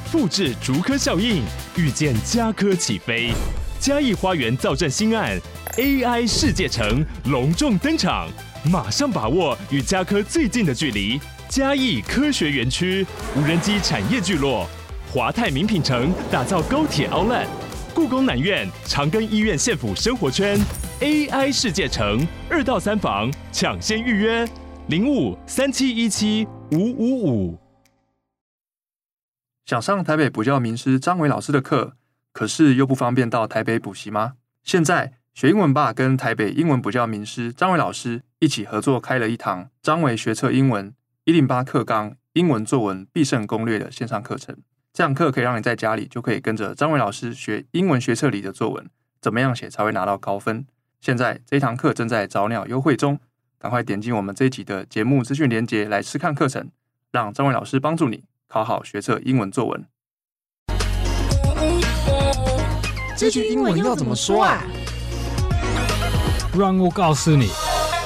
複製竹科效應，預見家科起飛。嘉義花園造鎮新案 AI 世界城隆重登場，馬上把握與家科最近的距離。嘉義科學園區無人機產業聚落，華泰名品城打造高鐵 Outlet， 故宮南院長庚醫院縣府生活圈 AI 世界城2到3房搶先預約0537175555。 想上台北補教名師張偉老師的課，可是又不方便到台北補習嗎？現在學英文吧跟台北英文補教名師張偉老師一起合作開了一堂張偉學測英文108課綱英文作文必勝攻略的線上課程。這堂課可以讓你在家裡就可以跟着張偉老師學英文學測裡的作文，怎麼樣寫才會拿到高分。現在這一堂課正在早鳥優惠中，趕快點進我們這一集的節目資訊連結來試看課程，讓張偉老師幫助你考好學測英文作文。 這句英文要怎麼說啊？ 讓我告訴你。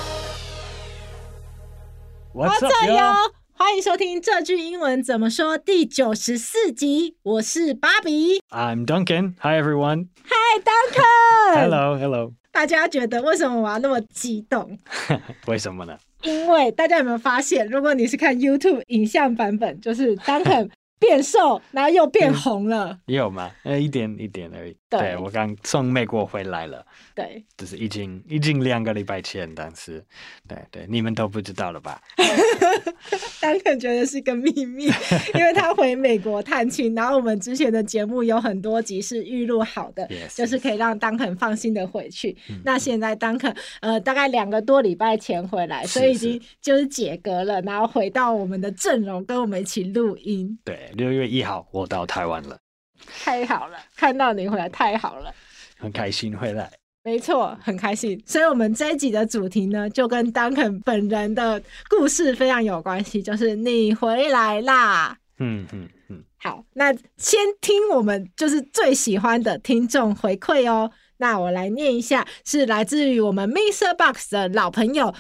What's up, yo？ 歡迎收聽這句英文怎麼說第94集，我是芭比。 I'm Duncan. Hi, everyone. Hi, Duncan. Hello. 大家覺得為什麼我要那麼激動？ 為什麼呢？ 因為大家有沒有發現，如果你是看 YouTube 影像版本，就是 Duncan 變瘦，然後又變紅了。有嗎？一點而已。對，我剛從美國回來了。 對， 就是已經2個禮拜前，但是對，你們都不知道了吧 ？Duncan 覺得是個秘密，因為他回美國探親，然後我們之前的節目有很多集是預錄好的， yes, 就是可以讓 Duncan 放心的回去。那現在 Duncan 大概2個多禮拜前回來，所以已經就是解隔了，然後回到我們的陣容，跟我們一起錄音。 對，6月1號我到台灣了， 太好了，看到你回來太好了， 很開心回來。 沒錯，很開心。所以我們這一集的主題呢，就跟 Duncan 本人的故事非常有關係，就是你回來啦。好，那先聽我們就是最喜歡的聽眾回饋哦。那我來念一下，是來自於我們 MixerBox 的老朋友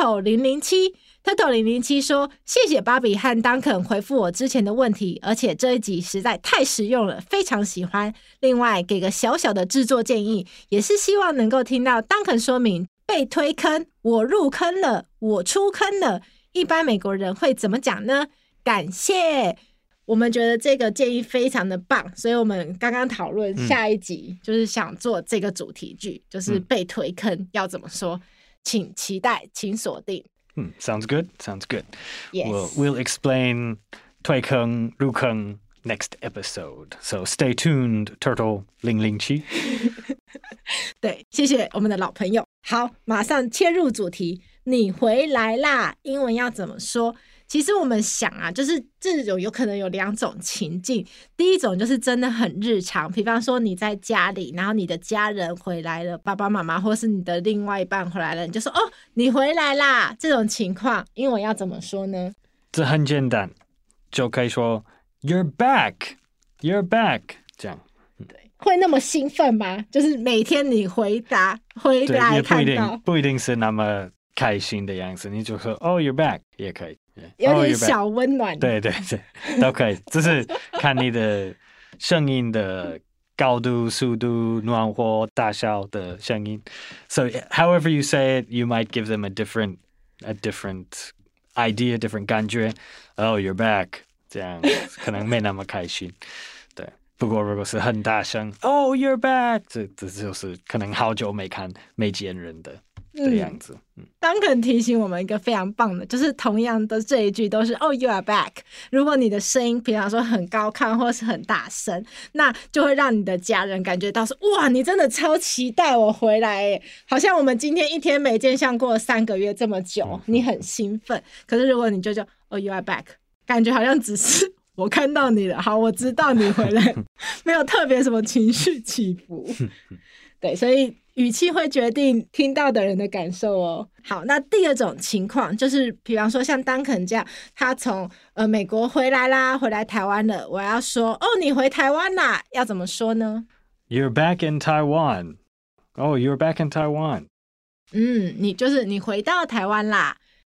Turtle007。Turtle 007說：“謝謝芭比和 Duncan 回復我之前的問題，而且這一集實在太實用了，非常喜歡。另外，給個小小的制作建議，也是希望能夠聽到 Duncan 說明被推坑、我入坑了、我出坑了，一般美國人會怎麼講呢？感謝。”我們覺得這個建議非常的棒，所以我們剛剛討論下一集就是想做這個主題句，就是被推坑要怎麼說，請期待，請鎖定。 Sounds good. Yes. We'll explain 推坑、入坑 next episode. So stay tuned, Turtle 007. 對，謝謝我們的老朋友。好，馬上切入主題。你回來啦，英文要怎麼說？其實我們想啊，就是這種有可能有2種情境。第一種就是真的很日常，比方說你在家裡，然後你的家人回來了，爸爸媽媽或是你的另外一半回來了，你就說哦，你回來啦。這種情況英文要怎麼說呢？ 這很簡單，就可以說 You're back， 這樣。 對，會那麼興奮嗎？就是每天你回來看到， 不一定是那麼開心的樣子，你就說 Oh, you're back 也可以。 有點小溫暖， 對，都可以，只是看你的聲音的高度、速度、暖和、大小的聲音。So however you say it, you might give them a different idea, different 感覺。Oh, you're back， 這樣可能沒那麼開心。對，不過如果是很大聲 ，Oh, you're back， 這就是可能好久沒見人的樣子。 Duncan 提醒我們一個非常棒的，就是同樣的這一句都是 Oh, you are back。如果你的聲音，比方說很高亢或是很大聲，那就會讓你的家人感覺到說，哇，你真的超期待我回來耶，好像我們今天一天沒見，像過了3個月這麼久，你很興奮。可是如果你就Oh, you are back， 感覺好像只是我看到你了，好，我知道你回來，沒有特別什麼情緒起伏。對，所以語氣會決定聽到的人的感受哦。好，那第2種情況就是，比方說像Duncan這樣，他從美國回來啦，回來台灣了，我要說哦，你回台灣啦，要怎麼說呢？ You're back in Taiwan. Oh, you're back in Taiwan. 你回到台灣啦。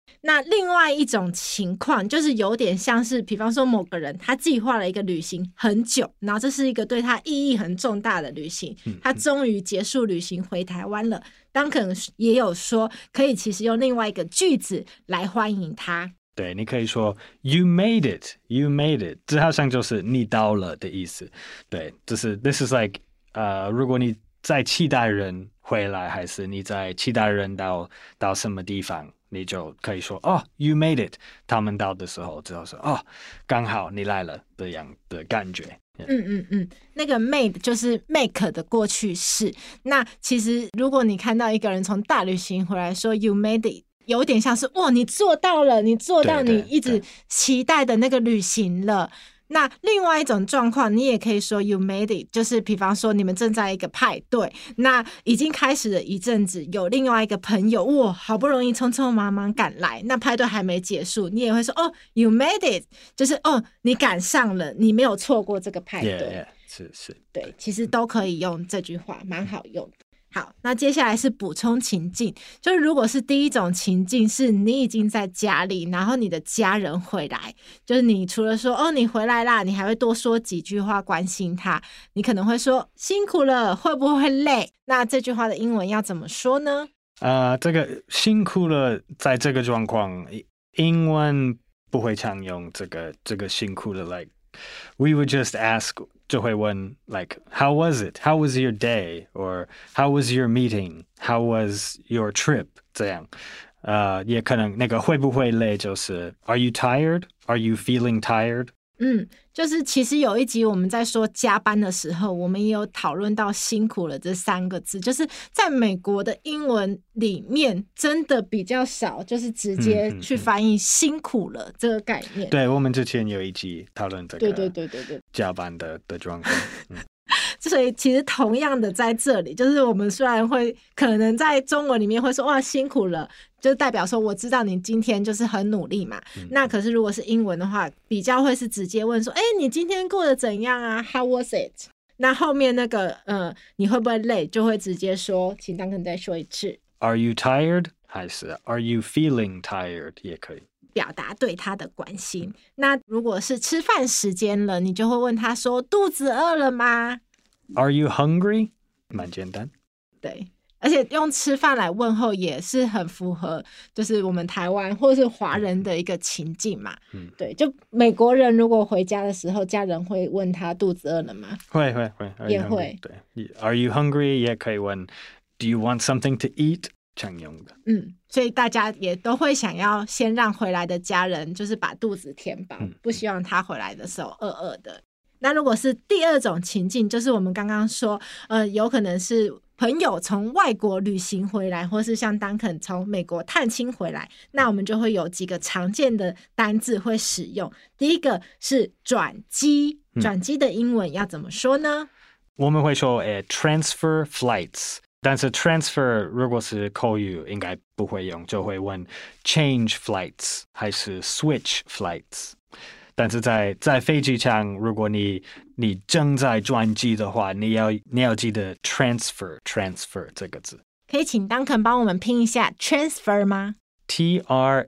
那另外一種情況就是有點像是，比方說某個人他計劃了一個旅行很久，然後這是一個對他意義很重大的旅行，他終於結束旅行回台灣了。Duncan 也有說，可以其實用另外一個句子來歡迎他。 對，你可以說 You made it, you made it， 這好像就是你到了的意思。對，就是 This is like，如果你在期待人回來，還是你在期待人到什麼地方，你就可以說哦 You made it， 他們到的時候之後說哦剛好你來了這樣的感覺。 那個 made 就是 make 的過去式。那其實如果你看到一個人從大旅行回來說 You made it， 有點像是哇你做到了，你做到你一直期待的那個旅行了。那另外一種狀況，你也可以說 You made it， 就是比方說你們正在一個派對，那已經開始了一陣子，有另外一個朋友哇好不容易匆匆忙忙趕來，那派對還沒結束，你也會說哦 You made it， 就是哦你趕上了，你沒有錯過這個派對。 是， 對，其實都可以用這句話，蠻好用的。好，那接下來是補充情境，就是如果是第一種情境是你已經在家裡，然後你的家人回來，就是你除了說哦你回來啦，你還會多說幾句話關心他，你可能會說辛苦了，會不會累？那這句話的英文要怎麼說呢？ 這個辛苦了，在這個狀況，英文不會常用這個辛苦了 ，like we would just ask。就會問 like how was it? How was your day? Or how was your meeting? How was your trip? 這樣，也可能那個會不會累就是 Are you tired? Are you feeling tired? 就是其實有一集我們在說加班的時候，我們也有討論到辛苦了這3個字，就是在美國的英文裡面真的比較少，就是直接去翻譯辛苦了這個概念。 對，我們之前有一集討論這個對加班的狀況。 所以其實同樣的在這裡，就是我們雖然會可能在中文裡面會說哇辛苦了，就代表說我知道你今天就是很努力嘛。那可是如果是英文的話，比較會是直接問說你今天過得怎樣啊 How was it？ 那後面那個你會不會累，就會直接說，請Duncan再說一次 Are you tired？ 還是 Are you feeling tired？ 也可以表達對他的關心。那如果是吃飯時間了，你就會問他說肚子餓了嗎 ？Are you hungry？ 蠻簡單。 對，而且用吃飯來問候也是很符合，就是我們台灣或是華人的一個情境嘛。對，就美國人如果回家的時候，家人會問他肚子餓了嗎？ 會， 也會。 對 ，Are you hungry？ 也可以問 Do you want something to eat？ 常用的。 所以大家也都會想要先讓回來的家人就是把肚子填飽，不希望他回來的時候餓餓的。那如果是第二種情境，就是我們剛剛說，有可能是朋友從外國旅行回來，或是像Duncan從美國探親回來，那我們就會有幾個常見的單字會使用。第一個是轉機，轉機的英文要怎麼說呢？ 我們會說transfer flights，但是 transfer 如果是口語應該不會用，就會問 change flights 還是 switch flights。但是在飛機上，如果你正在轉機的話，你要記得 transfer 這個字。 可以請Duncan幫我們拼一下 transfer 嗎？ Transfer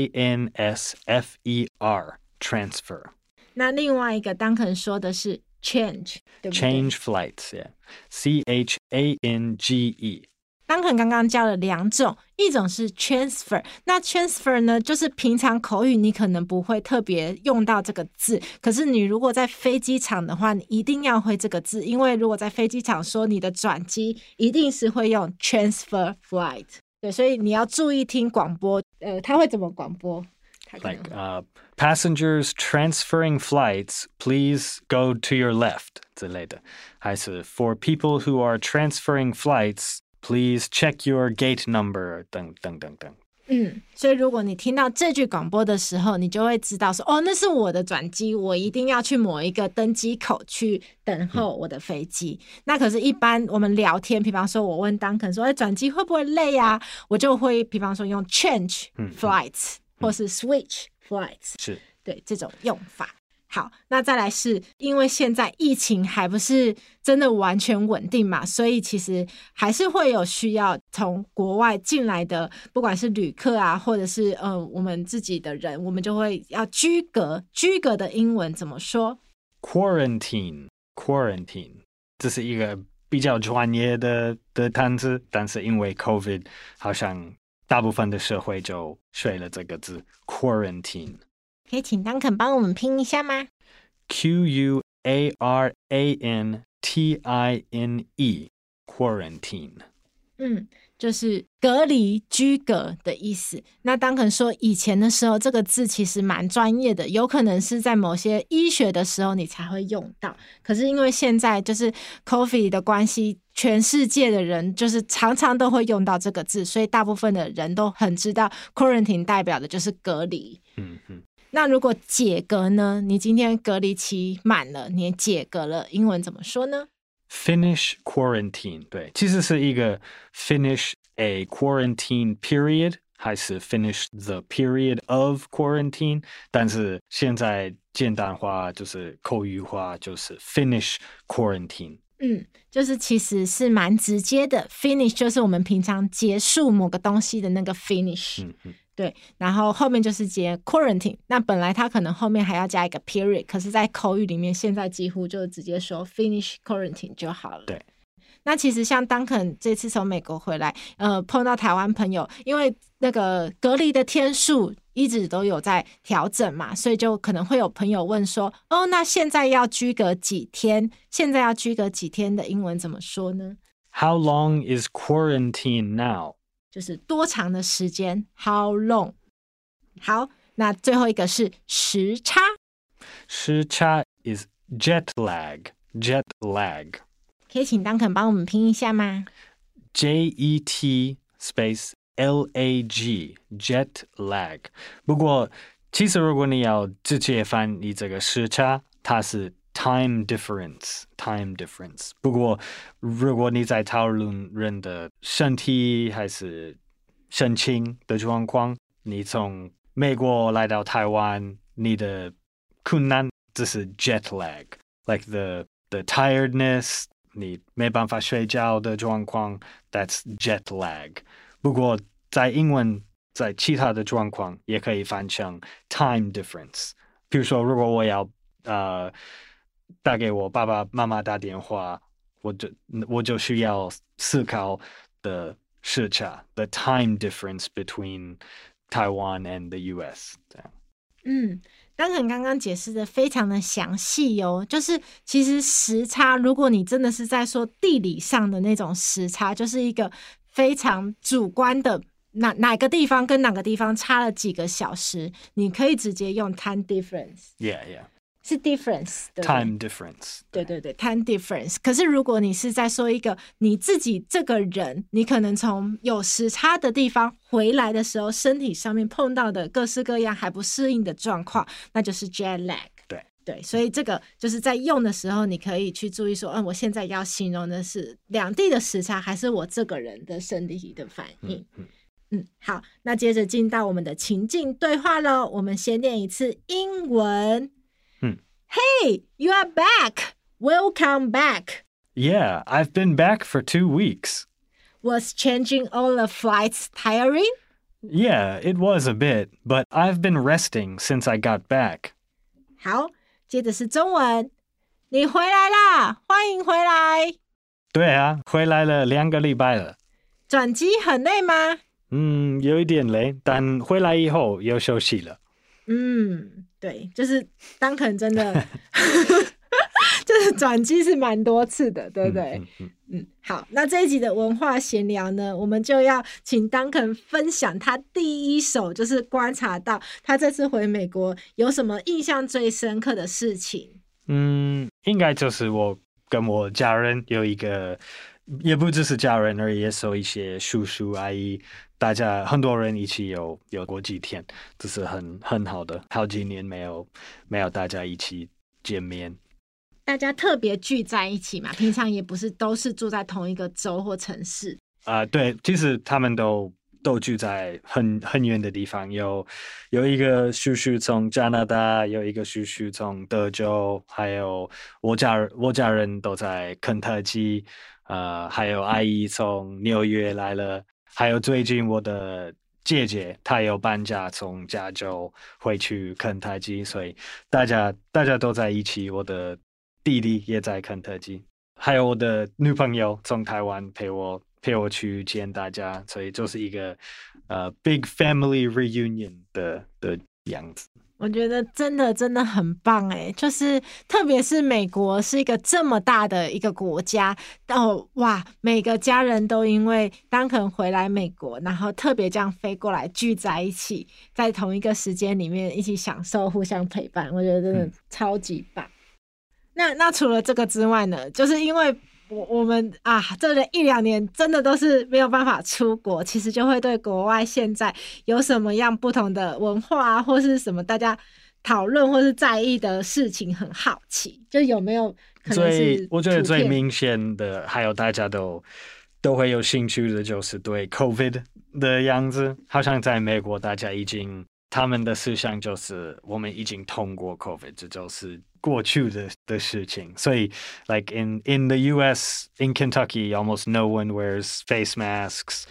transfer。 那另外一個Duncan說的是 change， 對不對？ Change flights， yeah. CHANGE。Duncan 剛剛教了2種，一種是 transfer， 那 transfer 呢，就是平常口語你可能不會特別用到這個字，可是你如果在飛機場的話，你一定要會這個字，因為如果在飛機場說你的轉機，一定是會用 transfer flight。對，所以你要注意聽廣播，他會怎麼廣播？ Like passengers transferring flights, please go to your left 之類的，還是 for people who are transferring flights。Please check your gate number 等。 所以如果你聽到這句廣播的時候，你就會知道說，那是我的轉機，我一定要去某一個登機口去等候我的飛機。那可是一般我們聊天，比方說我問Duncan說，轉機會不會累啊？我就會比方說用 change flights 或是 switch flights， 是， 對，這種用法。 好，那再來是因為現在疫情還不是真的完全穩定嘛，所以其實還是會有需要從國外進來的，不管是旅客啊，或者是我們自己的人，我們就會要居隔。居隔的英文怎麼說？ Quarantine， 這是一個比較專業的單詞，但是因為 COVID 好像大部分的社會就學了這個字 Quarantine。 可以請 Duncan 幫我們拼一下嗎？ Quarantine Quarantine。 就是隔離居隔的意思。那Duncan說以前的時候這個字其實蠻專業的，有可能是在某些醫學的時候你才會用到，可是因為現在就是 COVID 的關係，全世界的人就是常常都會用到這個字，所以大部分的人都很知道 quarantine 代表的就是隔離。那如果解隔呢？你今天隔離期滿了，你解隔了，英文怎麼說呢 ？Finish quarantine， 對，其實是一個 finish a quarantine period， 還是 finish the period of quarantine， 但是現在簡單化就是口語化，就是 finish quarantine。 就是其實是蠻直接的 ，finish 就是我們平常結束某個東西的那個 finish。對，然後後面就是接 quarantine， 那本來它可能後面還要加一個 period， 可是在口語裡面現在幾乎就直接說 finish quarantine 就好了。 對， 那其實像Duncan這次從美國回來，碰到台灣朋友，因為那個隔離的天數一直都有在調整嘛，所以就可能會有朋友問說，那現在要居隔幾天？現在要居隔幾天的英文怎麼說呢？ How long is quarantine now？ 就是多長的時間 How long？ 好，那最後一個是時差。 時差 is jet lag。 可以請Duncan幫我們拼一下嗎？ Jet space lag jet lag。不過其實如果你要直接翻譯這個時差，它是time difference。不過如果你在討論人的身體還是心情的狀況，你從美國來到台灣，你的困難只是 jet lag， like the tiredness， 你沒辦法睡覺的狀況 ，that's jet lag。不過在英文，在其他的狀況也可以翻成 time difference。比如說，如果我要打給我爸爸媽媽打電話，我就需要思考的時差 the time difference between Taiwan and the US。這樣。 Duncan剛剛解釋的非常的詳細哦，就是其實時差，如果你真的是在說地理上的那種時差，就是一個非常主觀的，哪個地方跟哪個地方差了幾個小時，你可以直接用 time difference。Yeah。是 difference， 對不对？ time difference。 对 time difference。可是如果你是在說一個你自己這個人，你可能從有時差的地方回來的時候，身體上面碰到的各式各樣還不適應的狀況，那就是 jet lag。對，所以這個就是在用的時候，你可以去注意說，我現在要形容的是兩地的時差，還是我這個人的身體的反應。好，那接着進到我們的情境對話咯，我們先練一次英文。Hey, you are back. Welcome back. Yeah, I've been back for 2 weeks. Was changing all the flights tiring? Yeah, it was a bit, but I've been resting since I got back. 好，接着是中文。你回來啦，歡迎回來。 對啊，回來了2個禮拜了。 轉機很累嗎？ 有一點累，但回來以後又休息了。 對，就是Duncan真的就是轉機是蠻多次的，對不對？好，那這一集的文化閒聊呢，我們就要請Duncan分享他第一手，就是觀察到他這次回美國有什麼印象最深刻的事情。 應該就是我跟我家人有一個，也不只是家人而已，也是有一些叔叔阿姨，大家很多人一起有過幾天，這是很好的。好幾年沒有大家一起見面， 大家特別聚在一起嘛，平常也不是都是住在同一個州或城市。 對，其實他們都都住在很遠的地方，有一個叔叔從加拿大，有一個叔叔從德州，還有我家人都在肯塔基，還有阿姨從紐約來了，還有最近我的姐姐她有搬家從加州回去肯塔基，所以大家都在一起，我的弟弟也在肯塔基，還有我的女朋友從台灣陪我去見大家，所以就是一個big family reunion 的樣子。 我覺得真的很棒哎，就是特別是美國是一個這麼大的一個國家哇，每個家人都因為Duncan回來美國，然後特別這樣飛過來聚在一起，在同一個時間裡面一起享受互相陪伴，我覺得真的超級棒。那除了這個之外呢，就是因為我們這1-2年真的都是沒有辦法出國，其實就會對國外現在有什麼樣不同的文化或是什麼大家討論或是在意的事情很好奇，就有沒有可能是我覺得最明顯的，還有大家都會有興趣的，就是對 COVID 的樣子。好像在美國，大家他們的思想就是我們已經通過 COVID， 這就是過去的事情。所以 like in the US, in Kentucky, almost no one wears face masks.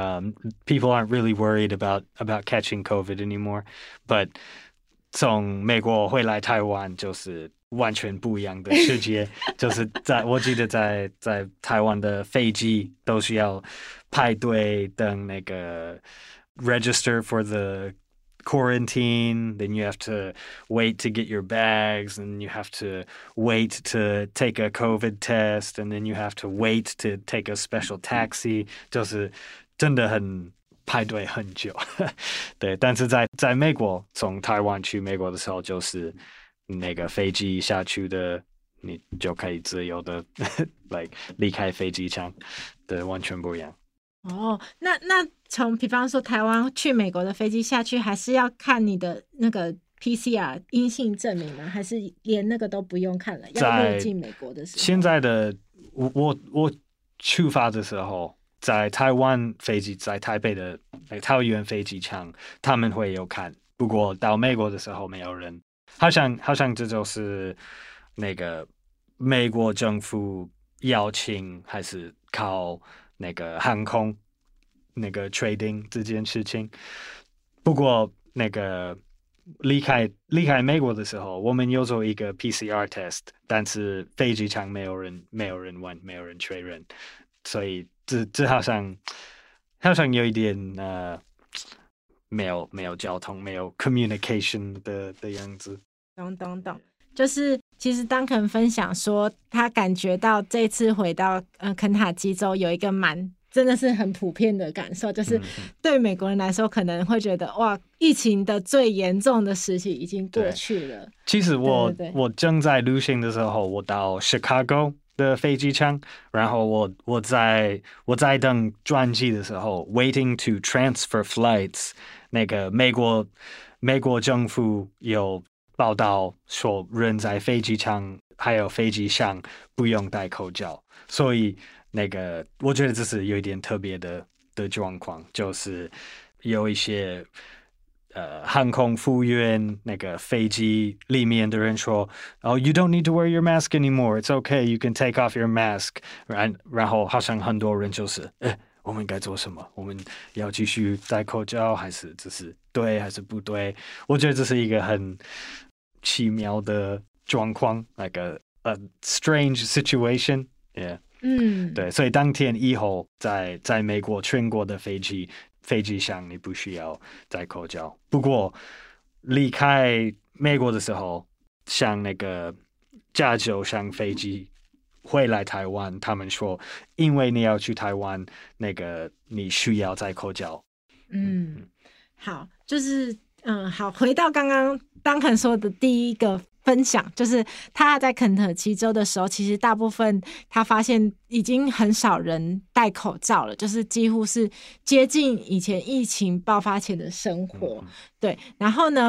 People aren't really worried about catching COVID anymore. But 從美國回來台灣就是完全不一樣的世界。就是我記得在台灣的飛機都需要排隊等那個 register for the quarantine, then you have to wait to get your bags, and you have to wait to take a COVID test, and then you have to wait to take a special taxi. 就是真的很排隊很久。对，但是在美國，從台灣去美國的時候，就是那個飛機下去的，你就可以自由的like 離開飛機場，對，完全不一樣。 那從比方說台灣去美國的飛機下去，還是要看你的那個 PCR 陰性證明嗎？還是連那個都不用看了？要入境美國的時候，現在的我出發的時候，在台灣飛機，在台北的桃園飛機場，他們會有看。不過到美國的時候，沒有人。好像這就是那個美國政府邀請，還是靠那個航空那個 trading 這件事情。不過那個離開美國的時候，我們有做一個 PCR test， 但是飛機場沒有人問，沒有人確認，所以這好像有一點沒有交通，沒有 communication 的樣子。 懂，就是其實Duncan分享說，他感覺到這次回到肯塔基州有一個真的是很普遍的感受，就是對美國人來說可能會覺得哇，疫情的最嚴重的時期已經過去了。 其實我正在旅行的時候，我到 Chicago 的飛機場，然後我在等轉機的時候 ，waiting to transfer flights， 那個美國政府有報道說，人在飛機場還有飛機上不用戴口罩，所以那個我覺得這是有一點特別的狀況，就是有一些航空服務員那個飛機裡面的人說，Oh, you don't need to wear your mask anymore. It's okay. You can take off your mask. 然後好像很多人就是我們該做什麼？我們要繼續戴口罩，還是這是對還是不對？我覺得這是一個很奇妙的狀況， like a strange situation. Yeah. 對，所以當天以後在美國全國的飛機上你不需要戴口罩。不過離開美國的時候，像那個加州上飛機回來台灣，他們說因為你要去台灣，那個你需要戴口罩。 好，就是好，回到剛剛Duncan說的第一個分享，就是他在肯塔基州的時候，其實大部分他發現已經很少人戴口罩了，就是幾乎是接近以前疫情爆發前的生活。對，然後呢，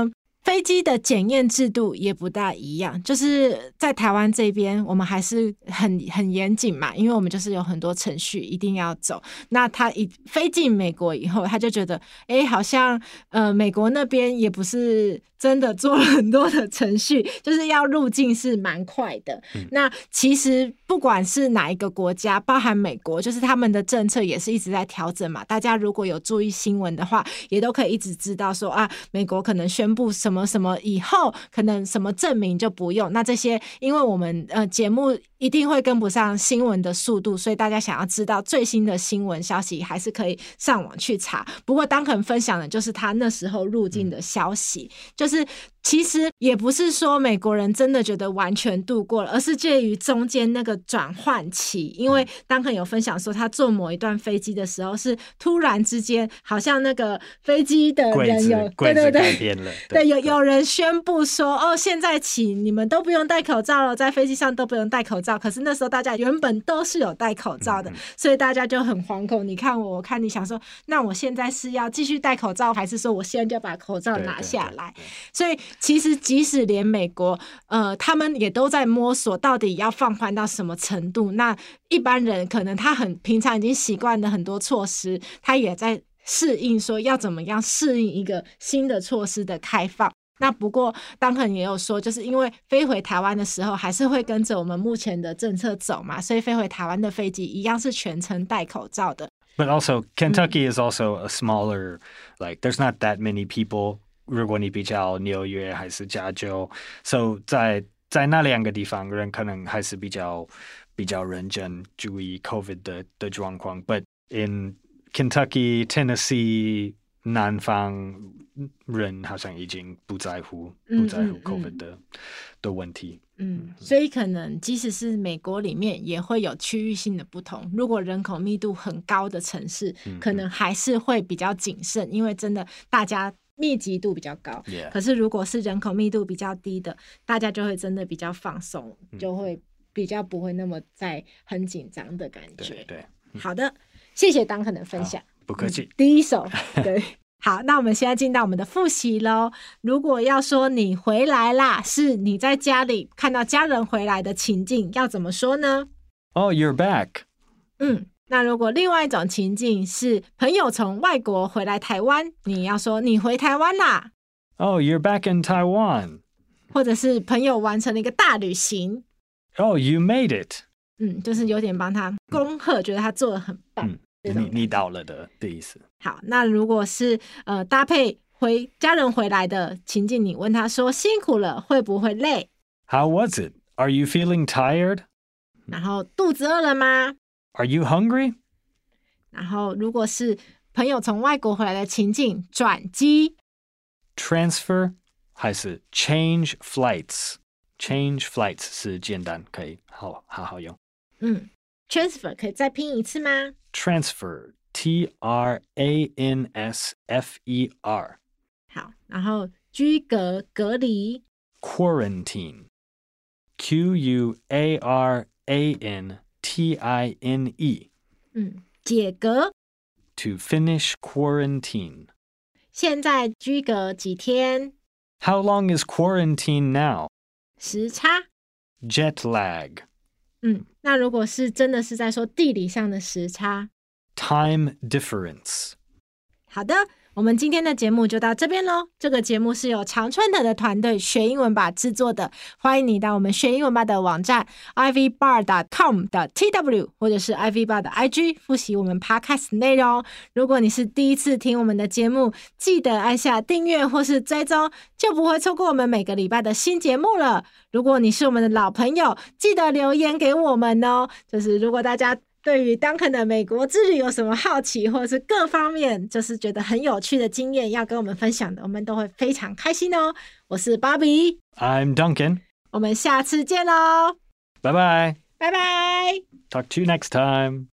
飛機的檢驗制度也不大一樣，就是在台灣這邊，我們還是很嚴謹嘛，因為我們就是有很多程序一定要走。那他一飛進美國以後，他就覺得，好像美國那邊也不是真的做了很多的程序，就是要入境是蠻快的。那其實不管是哪一個國家，包含美國，就是他們的政策也是一直在調整嘛。大家如果有注意新聞的話，也都可以一直知道說啊，美國可能宣布什麼什麼以後，可能什麼證明就不用。那這些，因為我們節目一定會跟不上新聞的速度，所以大家想要知道最新的新聞消息，還是可以上網去查。不過Duncan分享的就是他那時候入境的消息，就是其實也不是說美國人真的覺得完全度過了，而是介於中間那個轉換期。因為Duncan有分享說，他坐某一段飛機的時候，是突然之間好像那個飛機的人有櫃子改變了， 對，有人宣布說，哦，現在起你們都不用戴口罩了，在飛機上都不用戴口罩。可是那時候大家原本都是有戴口罩的，所以大家就很惶恐。你看我看你，想說，那我現在是要繼續戴口罩，還是說我现在就把口罩拿下來？所以其實即使連美國他們也都在摸索到底要放寬到什麼程度。那一般人可能他平常已經習慣了很多措施，他也在適應說要怎麼樣適應一個新的措施的開放。那不過Duncan也有說，就是因為飛回台灣的時候還是會跟着我們目前的政策走嘛，所以飛回台灣的飛機一樣是全程戴口罩的。 But also Kentucky is also a smaller, like there's not that many people. 如果你比較紐約還是加州 ，so 在那兩個地方人可能還是比較認真注意 COVID 的狀況。But in Kentucky, Tennessee 南方人好像已經不在乎 COVID 的問題。 所以可能即使是美國裡面也會有區域性的不同。如果人口密度很高的城市，可能還是會比較謹慎，因為真的大家密集度比較高。可是如果是人口密度比較低的，大家就會真的比較放鬆，就會比較不會那麼在很緊張的感覺。對，好的，謝謝Duncan的分享。 不客氣。 第一手，對。好，那我們現在進到我們的複習咯。如果要說你回來啦，是你在家裡看到家人回來的情境，要怎麼說呢？ Oh, you're back. 那如果另外一種情境是朋友從外國回來台灣，你要說你回台灣啦。 Oh, you're back in Taiwan. 或者是朋友完成了一個大旅行。 Oh, you made it. 就是有點幫他恭賀，覺得他做得很棒。 你到了的意思。 好，那如果是搭配家人回來的情境，你問他說辛苦了，會不會累？ How was it? Are you feeling tired? 然後肚子餓了嗎？ Are you hungry? 然後如果是朋友從外國回來的情境，轉機 transfer 還是 change flights? Change flights 是簡單，可以好好用。 transfer 可以再拼一次嗎？ Transfer T-R-A-N-S-F-E-R 好，然後居隔隔離 Quarantine Q-U-A-R-A-N-T-I-N-E 解隔 To finish quarantine 現在居隔幾天？ How long is quarantine now? 時差 Jet lag 那如果是真的是在說地理上的時差 Time difference 好的，我們今天的節目就到這邊咯。這個節目是由常春藤的團隊學英文吧製作的，歡迎你到我們學英文吧的網站 ivbar.com.tw 或者是 ivbar 的 IG 複習我們 podcast 內容。如果你是第一次聽我們的節目，記得按下訂閱或是追蹤，就不會錯過我們每個禮拜的新節目了。如果你是我們的老朋友，記得留言給我們哦。就是如果大家對於Duncan的美國之旅有什麼好奇，或者是各方面就是覺得很有趣的經驗要跟我們分享的，我們都會非常開心哦。我是 Bobby， I'm Duncan， 我們下次見咯， 拜拜， 拜拜， Talk to you next time。